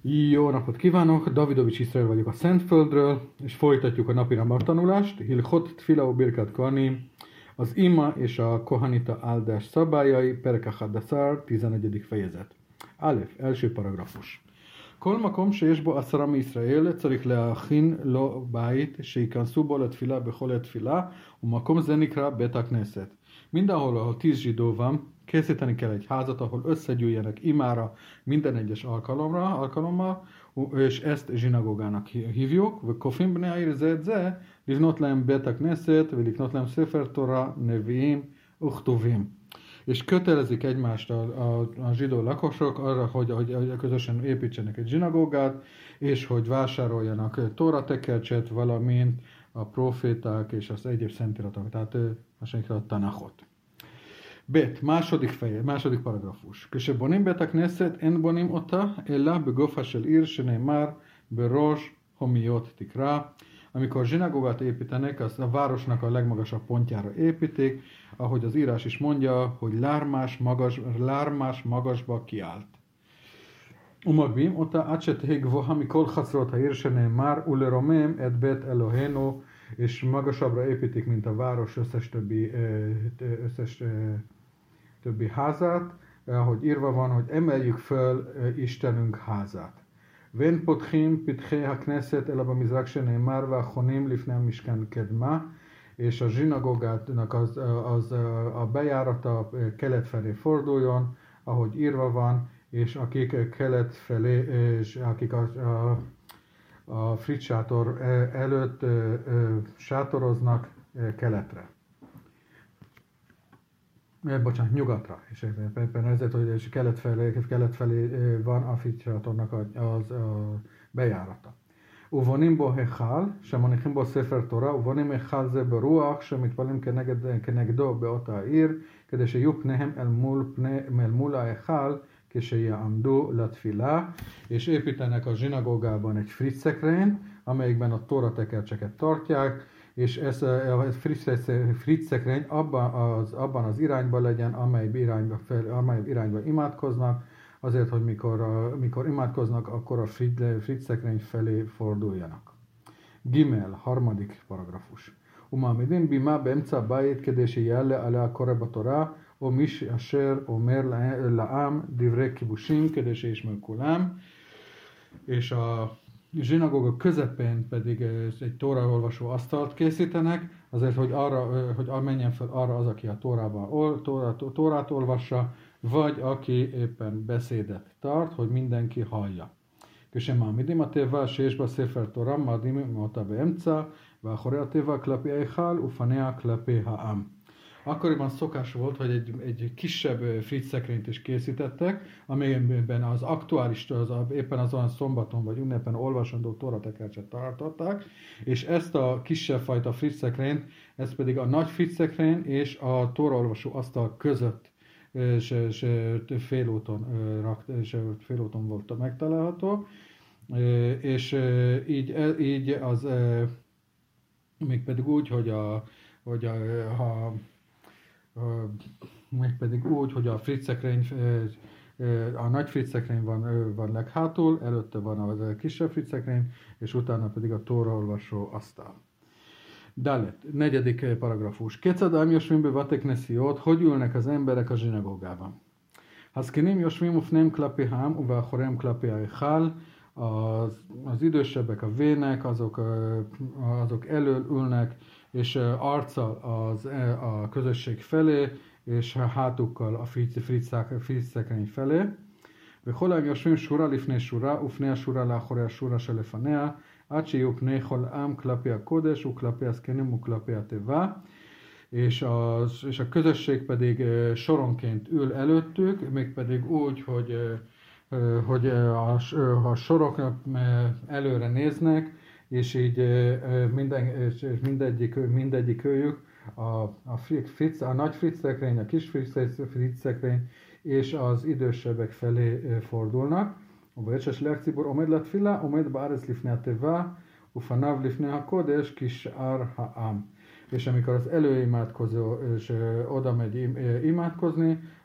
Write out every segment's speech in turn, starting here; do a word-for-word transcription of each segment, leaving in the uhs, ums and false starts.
Jó napot kívánok! Davidovics Iszrael vagyok a Szentföldről, és folytatjuk a napi tanulást. Hilchot Tfila Birkat Kohanim, az ima és a kohanita áldás szabályai, Perek Hadaszár, tizenegyedik fejezet. Alef, első paragrafus. כל מקום שיש בו עשרה מישראל צריך להכין לו בית שייכנסו בו לתפילה בכל התפילה, ומקום זה נקרא בית הכנסת. Mindenhol, ahol tíz zsidó van, készíteni kell egy házat, ahol összegyűjjenek imára minden egyes alkalomra, alkalommal, és ezt zsinagógának hívjuk. וכופים בני העיר זה את זה, לבנות להם בית הכנסת ולקנות להם ספר תורה, נביאים וכתובים. És kötelezik egymást a, a, a zsidó lakosok arra, hogy, hogy közösen építsenek egy zsinagógát, és hogy vásároljanak tóratekercset, valamint a proféták és az egyéb szentiratok, tehát a Tanachot. Bet, második feje, második paragrafus. כשבונים בית הכנסת, אין בונים אותה, אלא בגופה של עיר שנאמר בראש הומיות תקרא. Amikor zsinagógát építenek, az a városnak a legmagasabb pontjára építik, ahogy az írás is mondja, hogy lármás, magas, lármás magasba kiállt. ומגביהים אותה עד שתהא גבוהה מכל חצרות העיר שנאמר ולרומם את בית אלוהינו, és magasabbra építik, mint a város összes többi, összes többi házát, ahogy írva van, hogy emeljük föl Istenünk házát. ואין פותחים פתחי הכנסת אלא במזרק שנאמר והחונים לפני המשכן קדמה, és a zsinagógának az, az a bejárata kelet felé forduljon, ahogy írva van, és akik kelet felé, és akik a, a, a frit sátor előtt ö, ö, sátoroznak keletre. Bocsánat, nyugatra, és éppen ezért, hogy kelet felé, kelet felé van a frit sátornak az a bejárata. ובונים בו היכל, שמניחים בו ספר תורה, ובונים היכל זה ברוח, שמתפללים כנגד, כנגדו באותה העיר, כדי שיהיו פניהם אל מול, פני, אל מול ההיכל, כשיעמדו לתפילה, és építenek a zsinagógában egy fritzekrényt, amelyikben a tóratekercseket tartják, és ez a fritzekrény abban az, abban az irányban legyen, amely irányba, fel, amely irányba imádkoznak, azért, hogy mikor, mikor imádkoznak, akkor a fritzekrény felé forduljanak. Gimel, harmadik paragrafus. ומעמידים בימה באמצע הבית כדי שיעלה עליה קורא בתורה, או מי אשר אומר לעם דברי כיבושים כדי שישמעו כולם. És a zsinagóga közepén pedig egy tóraolvasó asztalt készítenek, azért, hogy, arra, hogy menjen fel arra az, aki a tórában, tórát, tórát olvassa, vagy aki éppen beszédet tart, hogy mindenki hallja. כשמעמידים התיבה שיש בה ספר תורה, מעמידים אותה באמצע, ואחורי התיבה כלפי ההיכל ופניה כלפי העם. Akkoriban szokás volt, hogy egy, egy kisebb fritzekrényt is készítettek, amelyben az aktuális, az, éppen azon szombaton vagy ünnepen olvasandó tóratekercset tartották, és ezt a kisebb fajta fritzekrényt, ez pedig a nagy fritzekrény és a tóraolvasó asztal között és, és félúton, és félúton volt megtalálható, és így, így az mégpedig úgy, hogy a, hogy a, ha mégpedig úgy, hogy a fritzekrény, a nagy fritzekrény van, van leghátul, előtte van a kisebb fritzekrény, és utána pedig a tóraolvasó asztal. Dalet, negyedik paragrafus. Kecadám Josvim bevatek nesziót, hogy ülnek az emberek a zsinagógában. Haszkinim Josvim ufnem klapi hám, uváhorem klapi aichal, az, az idősebbek, a vének, azok, azok elől ülnek, és arccal az, a közösség felé, és hátukkal a fritzekrény felé. וכולם יושבים שורה לפני שורה, ופני השורה לאחורי השורה שלפניה, עד שיהיו פני כל עם כלפי הקודש, וכלפי הזקנים וכלפי התיבה. És a, és a közösség pedig soronként ül előttük, mégpedig úgy, hogy, hogy a, a sorok előre néznek, és így minden, és mindegyik, mindegyik őjük, a, a, fritz, a nagy fritzekrény, a kis fritzekrény, és az idősebbek felé fordulnak. ובעת לציבור עומד לתפילה, עומד בארץ לפני התיבה, ופניו לפני הקודש כשאר העם. És amikor az előimádkozó és oda megy imádkozni,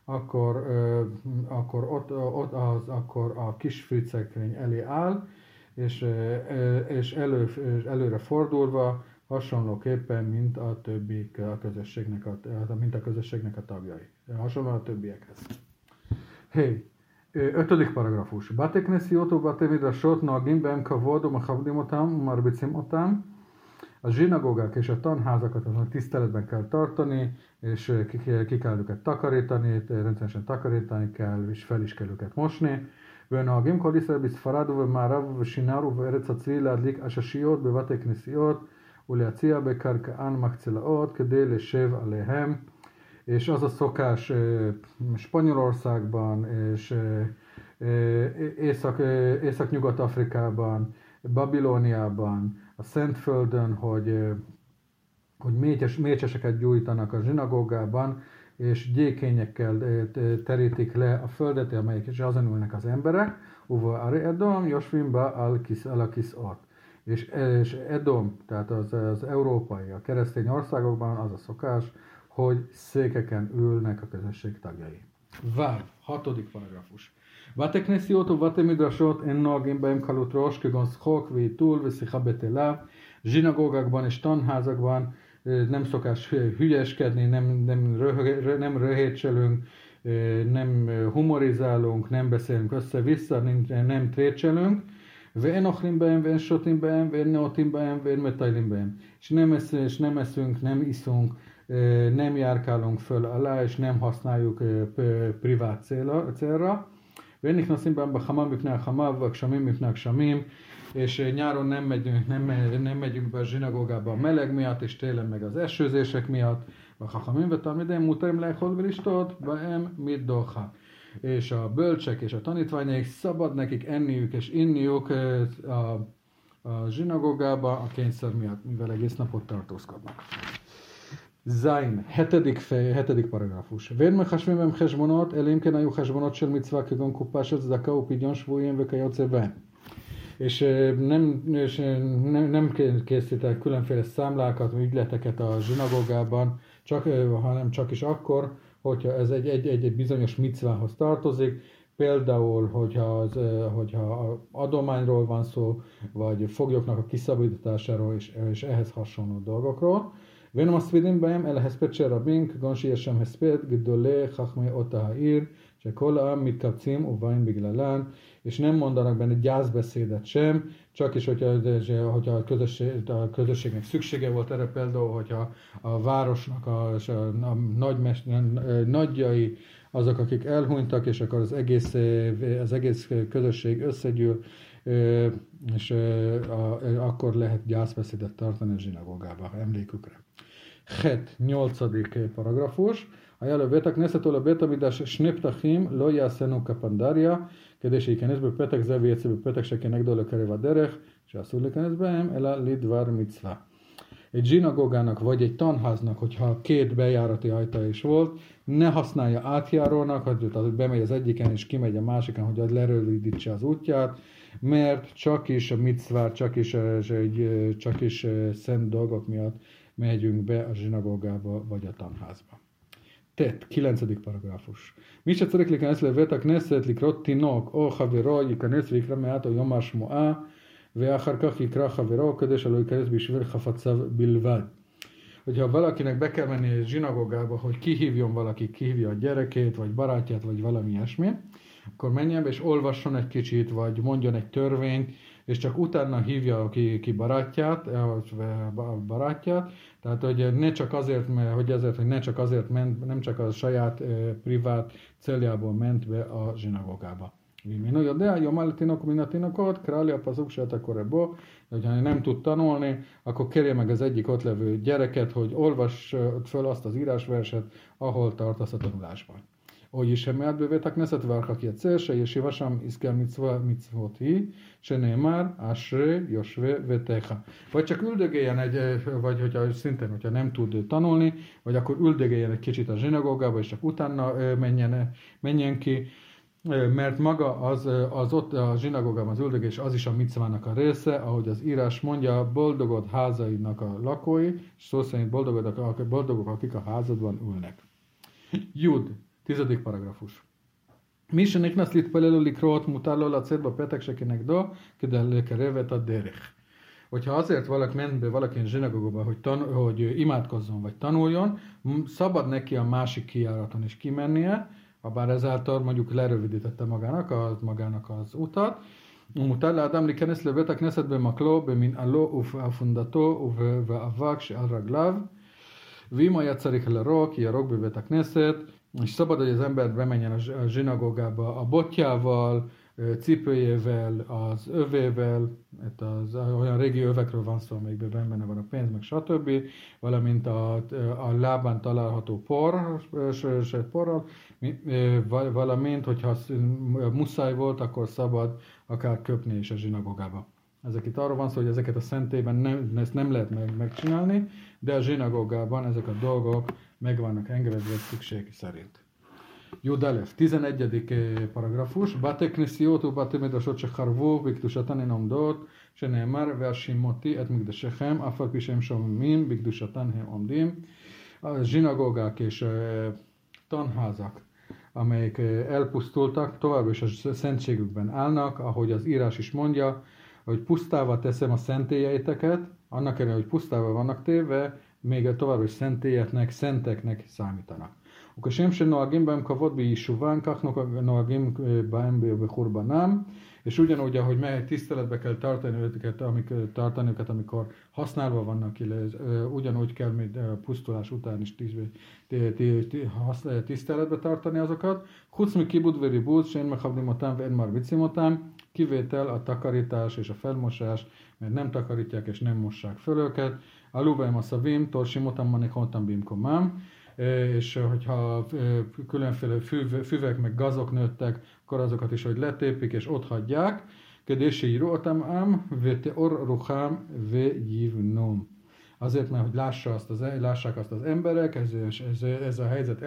akkor, ö, akkor, ott, ott az, akkor a kis fűszekrény elé áll, és, ö, és elő, előre fordulva, hasonlóképpen, mint a többi a közösségnek a, mint a közösségnek a tagjai. Hasonlóan a többiekhez. Hey. ötödik paragrafus. Bate knesiot ובתי מדרשות נוהגים בהם כבוד ומכבדים אותם ומרביצים אותם. A zsinagógák és a tanházakat azon tiszteletben kell tartani, és ki, ki kell őket takarítani, rendszeresen takarítani kell, és fel is kell őket mosni. ונוהגים כל ישראל בספרד ובמערב ובשינר ובארץ הצבי להדליק עששיות בבתי כנסיות ולהציע בקרקען מחצלאות כדי לשב עליהם. És az a szokás Spanyolországban és Észak, Észak-Nyugat-Afrikában, Babilóniában, a Szentföldön, hogy, hogy mécses, mécseseket gyújtanak a zsinagógában, és gyékényekkel terítik le a földet, amelyek is azon ülnek az emberek, uva Ari Edom, Josvimba al-Kis al-Kisot. És, és Edom, tehát az, az európai, a keresztény országokban az a szokás, hogy székeken ülnek a közösség tagjai. Váv, hatodik paragrafus. Vate knesiot uvate midrashot en noagim behem kalut rosh, kegon szchok, vétul, veszicha betelav. Zsinagógákban és tanházakban nem szokás hülyeskedni, nem, nem, röh, nem röhétselünk, nem humorizálunk, nem beszélünk össze-vissza, nem, nem trécselünk. ואין אוכלים בהם, ואין שותים בהם, ואין נאותים בהם, ואין מטיילים בהם. És nem, esz, és nem eszünk, nem iszunk, nem járkálunk föl alá, és nem használjuk privát célra. célra. ואין נכנסים בהם בחמה מפני החמה, והגשמים מפני הגשמים, és nyáron nem megyünk, nem, nem megyünk be a zsinagógába a meleg miatt, és télen meg az esőzések miatt. וחכמים ותלמידיהם מותרים לאכול ולשתות בהם מדוחק. És a bölcsek és a tanítványaik szabad nekik enniük és inniuk a, a zsinagógába a kényszer miatt, mivel egész napot tartózkodnak. Zain, hetedik, fej, hetedik paragrafus. ואין מחשבים בהם חשבונות, אלא אם כן היו חשבונות של מצווה כגון קופה של צדקה ופדיון שבויים וכיוצא בהם. És nem, és nem, nem készítek különféle számlákat, ügyleteket a zsinagógában, csak, hanem csak is akkor, hogyha ez egy, egy, egy, egy bizonyos micvához tartozik, például, hogyha, az, hogyha adományról van szó, vagy foglyoknak a kiszabadításáról, és, és ehhez hasonló dolgokról. ואין מספידים בהם אלא הספד של רבים, כגון שיש שם הספד גדולי חכמי אותה העיר, שכל העם מתקבצים ובאים בגללן, és nem mondanak benne gyászbeszédet sem, csak is, hogyha, hogyha a, közösség, a közösségnek szüksége volt erre, például, hogyha a városnak a, a, a nagymester, nagyjai, azok, akik elhunytak, és akkor az egész, az egész közösség összegyűl, és akkor lehet gyászbeszédet tartani a zsinagógába, emlékükre. Het, nyolcadik paragrafus. היה לבית הכנסת או לבית המקדש שני פתחים, לא יעשינו כפנדריה, כדי שייכנס בפתח זה ויצא בפתח שכנגדו לקרב הדרך, שאסור להיכנס בהם, אלא לדבר מצווה. Egy zsinagógának vagy egy tanháznak, hogyha két bejárati ajtaja is volt, ne használja átjárónak, hogy bemegy az egyiken és kimegy a másiken, hogy az lerövidítse az útját, mert csak is a micvát, csak is, csak is szent dolgok miatt megyünk be a zsinagógába vagy a tanházba. Tett, kilencedik paragrafus. מי שצריך להיכנס לבית הכנסת לקרוא תינוק או חברו ייכנס ויקרא מעט או יאמר שמועה ואחר כך יקרא חברו כדי שלא ייכנס בשביל חפציו בלבד. Hogyha valakinek be kell menni a zsinagógába, hogy kihívjon valaki, kihívja a gyerekét, vagy barátját, vagy valami ilyesmi, akkor menjen be és olvasson egy kicsit, vagy mondjon egy törvényt, és csak utána hívja ki, ki barátját, a barátját, tehát hogy ne csak azért, hogy ezért, hogy ne csak azért ment, nem csak a saját eh, privát céljából ment be a zsinagógába. Minő יודע, יאמר לתינוק מן התינוקות, קרא לי הפסוק שאתה קורא בו, hogyha nem tud tanulni, akkor kérje meg az egyik ott levő gyereket, hogy olvass föl azt az írásverset, ahol tartasz a tanulásban. או יישמע בבית הכנסת ואחר כך יצא, שישיבה שם יזכה מצוות היא, שנאמר, אשרי יושבי ביתך. Vagy csak üldögéljen egy, vagy hogyha szintén, hogyha nem tud tanulni, vagy akkor üldögéljen egy kicsit a zsinagógába, és csak utána menjen, menjen ki, mert maga az, az ott a zsinagógában az üldögés, az is a micvának a része, ahogy az írás mondja, boldogod házainak a lakói, és szó szerint boldogok, boldogok, akik a házadban ülnek. Jud, Tizedik paragrafus. Mi שנכנס להתפלל לקרות מותר לו לצאת בפתק שכנגדו כדי לקרב את הדרך. Hogyha azért valaki ment be valakin zsinagógóba, hogy, tan- hogy imádkozzon vagy tanuljon, szabad neki a másik kijáraton is kimennie, habár ezáltal mondjuk lerövidítette magának, a, magának az utat. ומותר לאדם להיכנס לבית הכנסת במקלו, במנעלו ובאפונדתו ובאבק שעל רגליו, ואם היה צריך לרוק, ירוק בבית הכנסת, és szabad, hogy az ember bemenjen a zsinagógába a botjával, cipőjével, az övével, az, olyan régi övekről van szó, amelyikben benne van a pénz, meg stb., valamint a, a lábán található por, sőt porral, valamint, hogyha muszáj volt, akkor szabad akár köpni is a zsinagógába. Ezek itt arról van szó, hogy ezeket a szentélyben nem, ezt nem lehet meg, megcsinálni, de a zsinagógában ezek a dolgok meg vannak engedve szükség szerint. Judalef, tizenegyedik paragrafus. Bate knesiot u bate midrashot shecharvu bikdusatan en omdot, sheneemar ve'ashimoti et mikdashechem, af al pi shehem shomimim bikdusatan hem omdim. A zsinagógák és tanházak, amelyek elpusztultak, továbbra is a szentségükben állnak, ahogy az írás is mondja, hogy pusztává teszem a szentélyeiteket, annak ellenére, hogy pusztává vannak téve, még továbbra is szentélyeknek, szenteknek számítanak. וכשם שנוהגים בהם כבוד ביישובם, כך נוהגים בהם בחורבנם, és ugyanúgy, ahogy meg tiszteletbe kell tartani őket, amikor, tartani őket, amikor használva vannak, ugyanúgy kell még pusztulás után is tiszteletbe tartani azokat. Chuc mi kibud veri búz, sen mechabdim otám, ve en marbicim otám, kivétel a takarítás és a felmosás, mert nem takarítják és nem mossák föl őket. Aluvaim a szavim, torsim otám manikontam bimkomám, és hogyha különféle füvek meg gazok nőttek, akkor azokat is, hogy letépik és ott hagyják. Kedési írótam ám, vete or ruhám ve jivnom. Azért, mert hogy lássa azt az, lássák azt az emberek, ez, ez, ez a helyzet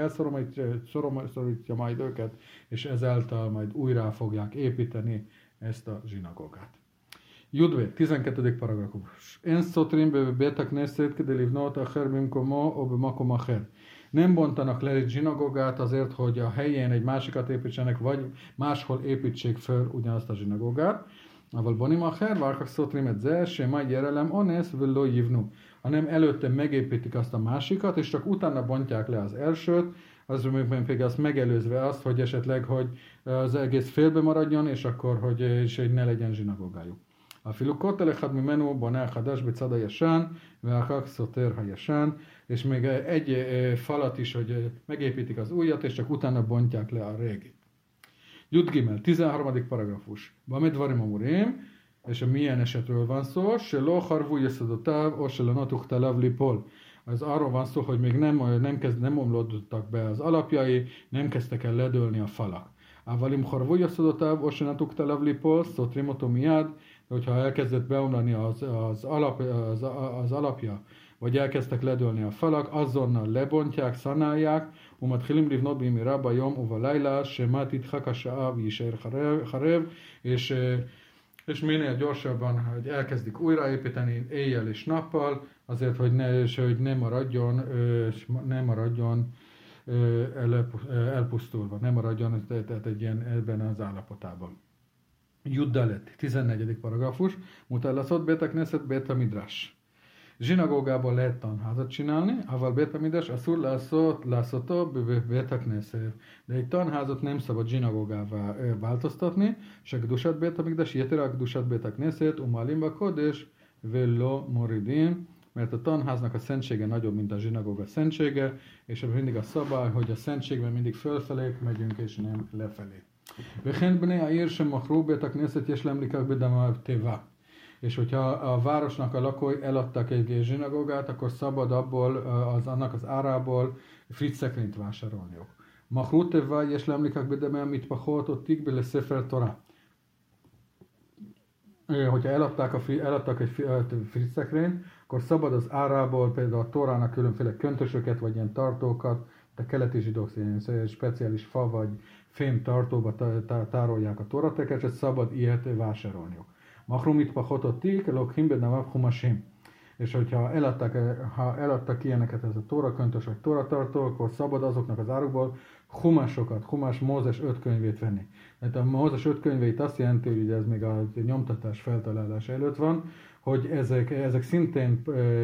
elszorítja majd őket, és ezáltal majd újra fogják építeni ezt a zsinagógát. Judve, tizenkettedik paragrafus. En szotrim be betak neszét, kede livnot acher bimkomo, o bemakom acher. Nem bontanak le egy zsinagógát azért, hogy a helyén egy másikat építsenek, vagy máshol építsék föl ugyanazt a zsinagógát. Aval bonim acher, várkak szotrim egy zer, se majd jerelem onesz, villo jivnu. Hanem előtte megépítik azt a másikat, és csak utána bontják le az elsőt, az például azt megelőzve azt, hogy esetleg, hogy az egész félbe maradjon, és akkor, hogy, és hogy ne legyen zsinagógájuk. אפילו כותל אחד ממנו בונה החדש בצד הישן, ואחר כך סותר הישן, és még egy falat is, hogy megépítik az újat, és csak utána bontják le a régit. Jud Gimel, tizenharmadik paragrafus. Bamid varim amurim, és a milyen esetről van szó, se lo harvu yeszadotav, o se lanotuk talav lipol. Ez arról van szó, hogy még nem, nem, kezd, nem omlódtak be az alapjai, nem kezdtek el ledőlni a falak. Avalim harvu yeszadotav, o se lanotuk talav lipol, szotrim oto miad, hogyha elkezdett beomlani az, az, alap, az, az alapja, vagy elkezdtek ledőlni a falak, azonnal lebontják, szanálják, umatchilim livnot bimira bajom uva laila, semat itchak hasha'a v'yisher charev, és, és minél gyorsabban, hogy elkezdik újraépíteni éjjel és nappal, azért, hogy ne, és, hogy ne maradjon, ne maradjon elpusztulva, ne maradjon tehát egy ilyen ebben az állapotában. Juddalet, tizennegyedik paragrafus, mutálaszott Bét Knesset Bét Midrash. Zsinagógában lehet tanházat csinálni, aval Bét Midrash asszur lászot, lászotó Bét Knesset. De egy tanházat nem szabad zsinagógává változtatni, se Gdushat Bét Midrash, Jetera Gdushat Bét Knesset, Umalimba Kodesh, Vello Moridim, mert a tanháznak a szentsége nagyobb, mint a zsinagóga szentsége, és mindig a szabály, hogy a szentségben mindig fölfelé megyünk, és nem lefelé. וכן בני העיר שמכרו בית הכנסת יש להם לקח בדמה טבע. És hogyha a városnak a lakói eladtak egy zsinagógát, akkor szabad abból, az, annak az árából fric szekrényt vásárolniuk. מכרו טבע יש להם לקח בדמה המטפחות או תיק בספר תורה. Hogyha eladták, a, eladtak egy fric szekrényt, akkor szabad az árából például a Tórának különféle köntösöket, vagy ilyen tartókat, a keleti zsidók ilyen speciális fa vagy fém tartóba tárolják a tóratekercset, szabad ilyet vásárolniuk. Machrumit pachototik, lokhim bedamav humasim. és hogyha eladtak, ha eladtak ilyeneket ez a tóraköntös vagy tóratartó, akkor szabad azoknak az árukból humásokat, humás Mózes öt könyvét venni. Tehát a Mózes öt könyvét azt jelenti, hogy ez még a nyomtatás feltalálás előtt van, hogy ezek, ezek szintén,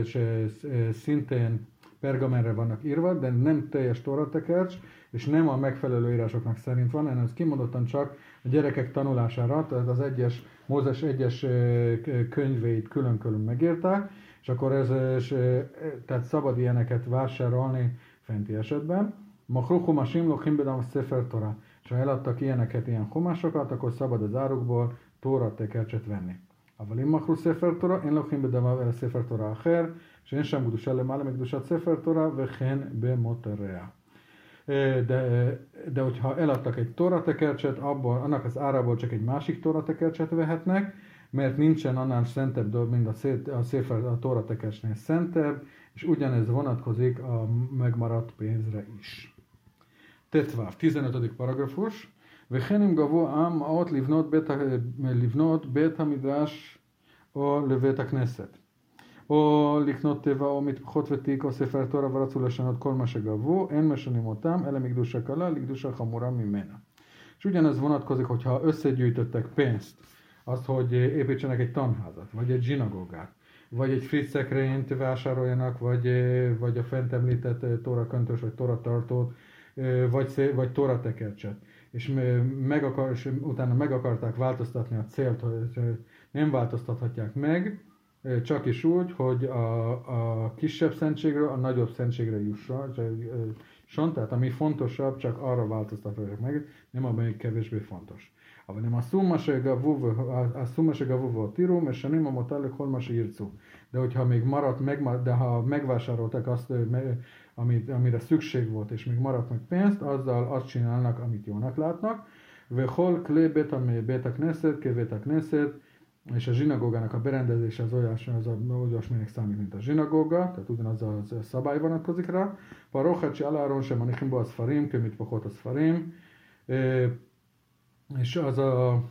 szintén pergamenre vannak írva, de nem teljes tóratekercs, és nem a megfelelő írásoknak szerint van, hanem ez kimondottan csak a gyerekek tanulására, tehát az egyes, Mózes egyes könyveit külön-külön megírták, és akkor ez, és, tehát szabad ilyeneket vásárolni fenti esetben. Machru humashim lochim bedam sefer Torah. És ha eladtak ilyeneket, ilyen humásokat, akkor szabad az árukból tóratekercset venni. אבל אם מכרו ספר תורה, אין לוקחים בדמיו אלא ספר תורה אחר, שאין שם קדושה למעלה מקדושת ספר תורה, וכן במותריה. De, de hogyha eladtak egy tóratekercset, abból, annak az árából csak egy másik tóratekercset vehetnek, mert nincsen annál szentebb dolog, mint a, szé, a, széfer, a tóratekercsnél szentebb, és ugyanez vonatkozik a megmaradt pénzre is. Tetváv, tizenötödik paragrafus. וכן אם גבו העם מעות לבנות בית, לבנות בית המדרש או לבית הכנסת, או לקנות טבע או מטפחות ותיק או ספר תורה ורצו לשנות כל מה שגבו, אין משנים אותם, אלא מקדושה קלה לקדושה חמורה ממנה. És ugyanez vonatkozik, hogyha összegyűjtöttek pénzt, azt, hogy építsenek egy tanházat, vagy egy zsinagógát, vagy egy fritzekrényt vásároljanak, vagy, vagy a fent említett tóraköntös, vagy tóratartót, vagy, vagy tóratekercset. És, meg akar, és utána meg akarták változtatni a célt, hogy nem változtathatják meg, csak is úgy, hogy a, a kisebb szentségről a nagyobb szentségre jusson, tehát ami fontosabb, csak arra változtatják meg, nem amelyik kevésbé fontos. אבל הם עשו מה שגבו והותירו, משנים המותר לכל מה שירצו. De hogyha még maradt, meg, de ha megvásárolták azt, amit, amire szükség volt, és még maradt meg pénzt, azzal azt csinálnak, amit jónak látnak. Vehol klé bét a knesset, ké bét a knesset, és a zsinagógának a berendezése az olyas, az a, olyasminek számít, mint a zsinagóga, tehát ugyanaz a szabály vonatkozik rá. Parochat se aláron sem manichim bo a szfarim, kömit pachot a szfarim, és az a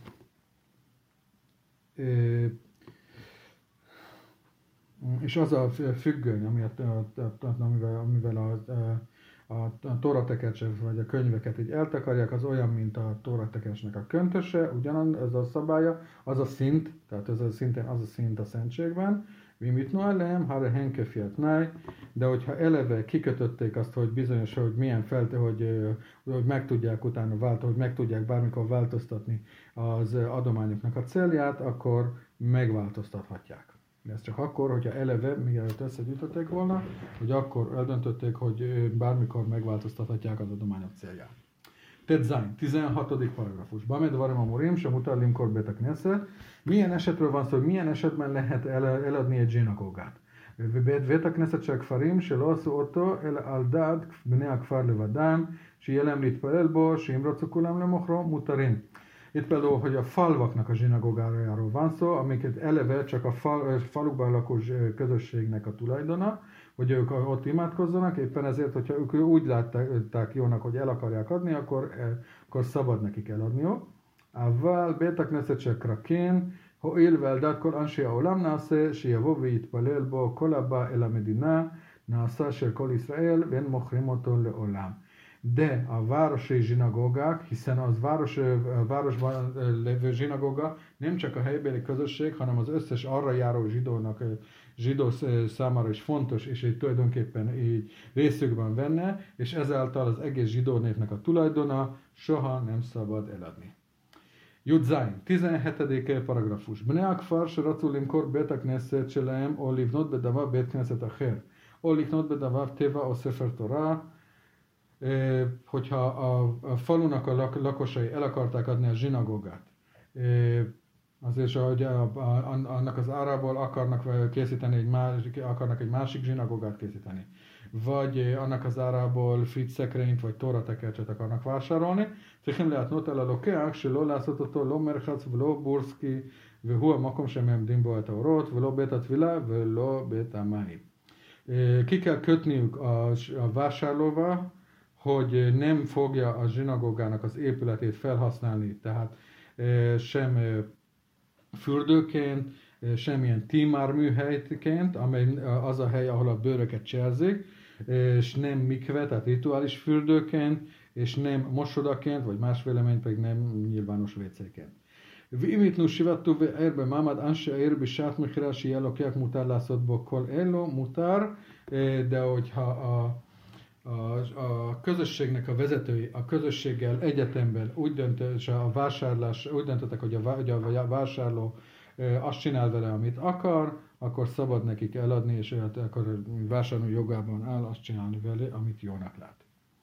és az a függöny, amivel, amivel a, a, a tóratekercset vagy a könyveket így eltakarják, az olyan, mint a tóratekercsnek a köntöse, ugyanaz a szabálya, az a szint, tehát ez a szintén az a szint a szentségben, mit noelem, ha henkefiat náj, de hogyha eleve kikötötték azt, hogy bizonyos, hogy milyen felte, hogy, hogy meg tudják utána változtatni, hogy meg tudják bármikor változtatni az adományoknak a célját, akkor megváltoztathatják. De ez csak akkor, hogyha eleve, mielőtt összegyűjtötték volna, hogy akkor eldöntötték, hogy bármikor megváltoztathatják az adományok célját. Tetzain, tizenhatodik paragrafus. Bamed varim amurim, sem utallim kor bét a knesset. Milyen esetről van szó, hogy milyen esetben lehet el, eladni egy zsinagógát? בית הכנסת של הכפרים שלא עשו אותו אלא על דעת בני הכפר לבדם, שיהיה להם להתפלל בו, שאם רצו כולם למוכרו, מותרים. Itt például, hogy a falvaknak a zsinagógájáról van szó, amiket eleve csak a fal, falukban lakó közösségnek a tulajdona, hogy ők ott imádkozzanak, éppen ezért, hogyha ők úgy látták jónak, hogy el akarják adni, akkor, akkor szabad nekik eladniuk. אבל בית הכנסת של קרקין הואיל ועל דעת כל אנשי העולם נעשה שיבוא ויתפלל בו כל הבא אל המדינה נעשה של כל ישראל ואין מוכרים אותו לעולם. De a városi zsinagógák, hiszen az város, a városban lévő zsinagóga nem csak a helybéli közösség, hanem az összes arra járó zsidónak, zsidó számára is fontos, és így tulajdonképpen így részükben venne, és ezáltal az egész zsidó népnek a tulajdona soha nem szabad eladni. Judzain, tizenhetedik paragrafus. Bnei הכפר שרצו למכור בית הכנסת שלהם או לבנות בדמיו בית כנסת אחר, או לקנות בדמיו טבע או ספר תורה, hogyha a, a falunak a lak, lakosai el akarták adni a zsinagógát, azért, hogy a, a, annak az árából akarnak készíteni egy másik, akarnak egy másik zsinagógát készíteni, vagy annak az árából fritzekrényt vagy tóratekercset akarnak vásárolni, צריכים להתנות על הלוקח שלא לעשות אותו לא מרחץ ולא בורסקי והוא המקום שמעמדים בו את האורות ולא בית התפילה ולא בית המים. Ki kell kötniük a, a vásárlóval, hogy nem fogja a zsinagógának az épületét felhasználni, tehát sem fürdőként, semmilyen tímárműhelyként, amely az a hely, ahol a bőröket cserzik, és nem mikve, tehát rituális fürdőként, és nem mosodaként, vagy más vélemény pedig nem nyilvános vécéként. ואם יתנו שבעת טובי ער במעמד אנשי העיר בשעת מכירה שיהיה לוקח מותר לעשות בו כל אלו, מותר, de hogyha a, a, a közösségnek a vezetői a közösséggel egyetemben úgy döntött, és a vásárlás, úgy döntöttek, hogy a, hogy a vásárló azt csinál vele, amit akar, akkor szabad nekik eladni, és akkor vásárló jogában áll azt csinálni vele, amit jónak lát.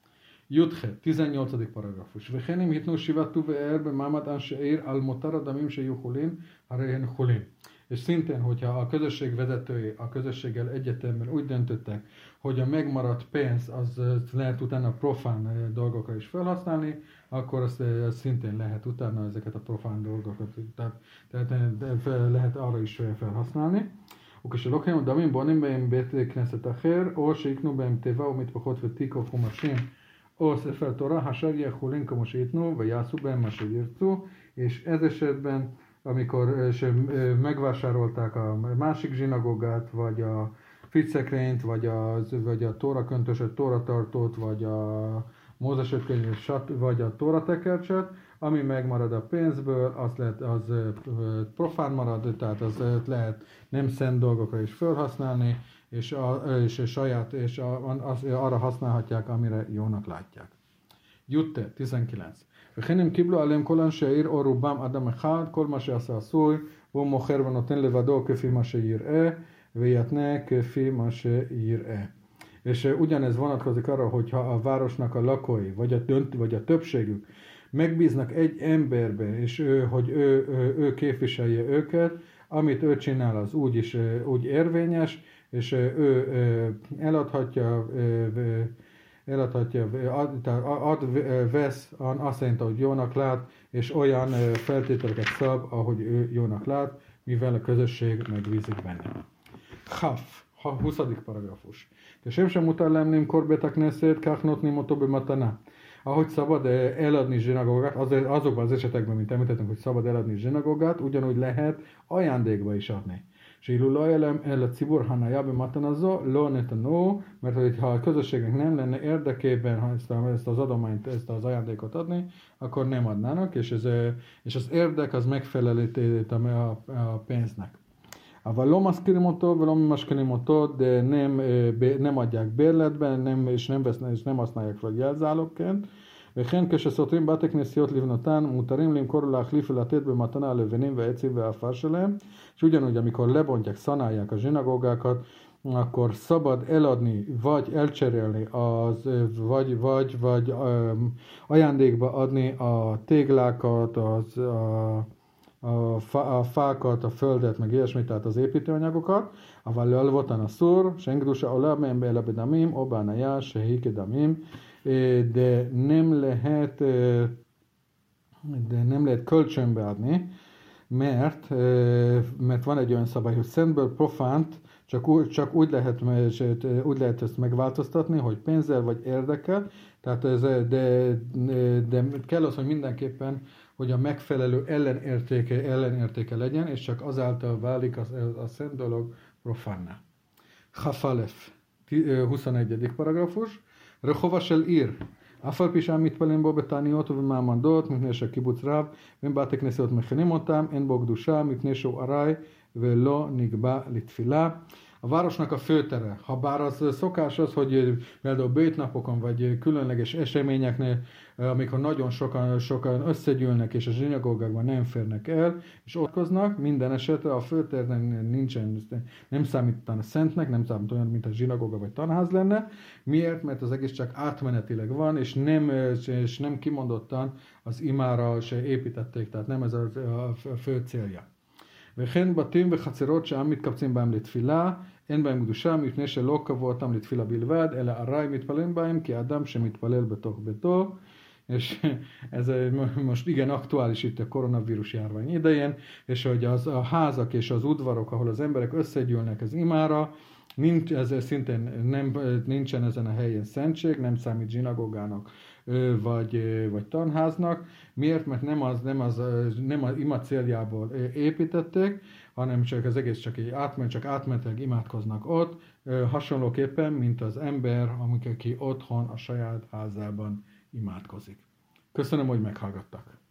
Jutche, tizennyolcadik paragrafus. וכן אם ייתנו שבעת טובי ער במעמד אנשי עיר על מותר הדמים שיהיו חולין, הרי הן חולין. És szintén, hogyha a közösség vezetői a közösséggel egyetemben úgy döntöttek, hogy a megmaradt pénz az lehet utána profán dolgokra is felhasználni, akkor azt szintén lehet utána ezeket a profán dolgokat, tehát, tehát lehet arra is felhasználni. וכשלוקחים דמים בונים בהם בית כנסת אחר, או שיקנו בהם תיבה ומטפחות ותיק או חומשים, או ספר תורה, אשר יהיה חולין כמו שיתנו, ויעשו bהם מה שירצו, és ez esetben, amikor megvásárolták a másik zsinagógát, vagy a ficekrényt, vagy a, vagy a tóra köntösöt, tóratartót, vagy a Mózes öt könyv, vagy a tóratekercset, ami megmarad a pénzből, az, lehet, az profán marad, tehát az lehet nem szent dolgokra is felhasználni, és, a, és, a saját, és a, az, arra használhatják, amire jónak látják. Jutte, tizenkilenc. וכן הם קיבלו עליהם כל אנשי העיר או רובם אדם אחד, כל מה שעשה עשוי, והוא מוכר ונותן לבדו כפי מה שיראה, ויתנה כפי מה שיראה. És ugyanez vonatkozik arra, hogyha a városnak a lakói, vagy a, dönt, vagy a többségük megbíznak egy emberbe, és ő, hogy ő, ő, ő képviselje őket, amit ő csinál, az úgy is úgy érvényes, és ő eladhatja, eladhatja, ad, ad, vesz azt szerint, ahogy jónak lát, és olyan feltételeket szab, ahogy ő jónak lát, mivel a közösség megbízik benne. Haf, huszadik paragrafus. כשם שמותר להם למכור בית הכנסת, כך נותנים אותו במתנה. Ahogy szabad eladni zsinagógát, azokban az esetekben, mint említettünk, hogy szabad eladni zsinagógát, ugyanúgy lehet ajándékba is adni. שאילו לא היה להם אל הציבור הניה במתנה זו, לא נתנו, mert ha a közösségnek nem lenne érdekében ha ezt, a, ezt az adományt, ezt az ajándékot adni, akkor nem adnának, és, ez, és az érdek az megfelelő a, a pénznek. אבל לא מזכירים אותו ולא ממשכנים אותו, de nem, nem adják bérletben, nem, és nem, vesznek, és nem használják fel jelzálogként. וכן כשסותרים בתי כנסיות לבנותן, מותרים למכור ולהחליף ולתת במתנה הלבנים והעצים והעפר שלהם, és ugyanúgy, amikor lebontják, szanálják a zsinagógákat, akkor szabad eladni, vagy elcserélni, az, vagy, vagy, vagy um, ajándékba adni a téglákat, az, a, a, fa, a fákat, a földet, meg ilyesmit, tehát az építőanyagokat, אבל להלוותן אסור, שאין קדושה עולה מהם אלא בדמים או בהניה שהיא כדמים, de nem lehet, de nem lehet kölcsönbe adni, mert, mert van egy olyan szabály, hogy szentből profánt csak úgy, csak úgy, lehet, úgy lehet ezt megváltoztatni, hogy pénzzel vagy érdekkel, tehát ez, de, de kell az, hogy mindenképpen, hogy a megfelelő ellenértéke, ellenértéke legyen, és csak azáltal válik a, a szent dolog profánná. Chafalef, huszonegyedik paragrafus. רחובה של עיר, אף על פי שהם מתפללים בו בתעניות ובמעמדות, מפני שהקיבוץ רב, והם בתי כנסיות מכינים אותם, אין בו קדושה, מפני שהוא ארעי ולא נקבע לתפילה. A városnak a főtere, ha bár az szokás az, hogy például bétnapokon vagy különleges eseményeknél, amikor nagyon sokan, sokan összegyűlnek és a zsinagógákban nem férnek el, és ott koznak, minden esetre a főternek nincsen, nem számít a szentnek, nem számít olyan, mint a zsinagóga vagy tanház lenne. Miért? Mert az egész csak átmenetileg van, és nem, és nem kimondottan az imára se építették, tehát nem ez a, a fő célja. וכן בתים וחצרות שהעם מתקבצים בהם לתפילה, אין בהם קדושה, מפני שלא קבעו אותם לתפילה בלבד, אלא ארעי מתפלל בהם, כי האדם שמתפלל בתוך ביתו. És ez most igen aktuális itt a koronavírus járvány idején, és hogy az, a házak és az udvarok, ahol az emberek összegyűlnek az imára, nincs, ez szintén nem, nincsen ezen a helyen szentség, nem számít zsinagógának vagy, vagy tanháznak. Miért? Mert nem az, nem az, nem az ima céljából építették, hanem csak az egész csak egy átment, csak átmenetileg imádkoznak ott, hasonlóképpen, mint az ember, amikor ki otthon a saját házában imádkozik. Köszönöm, hogy meghallgattak.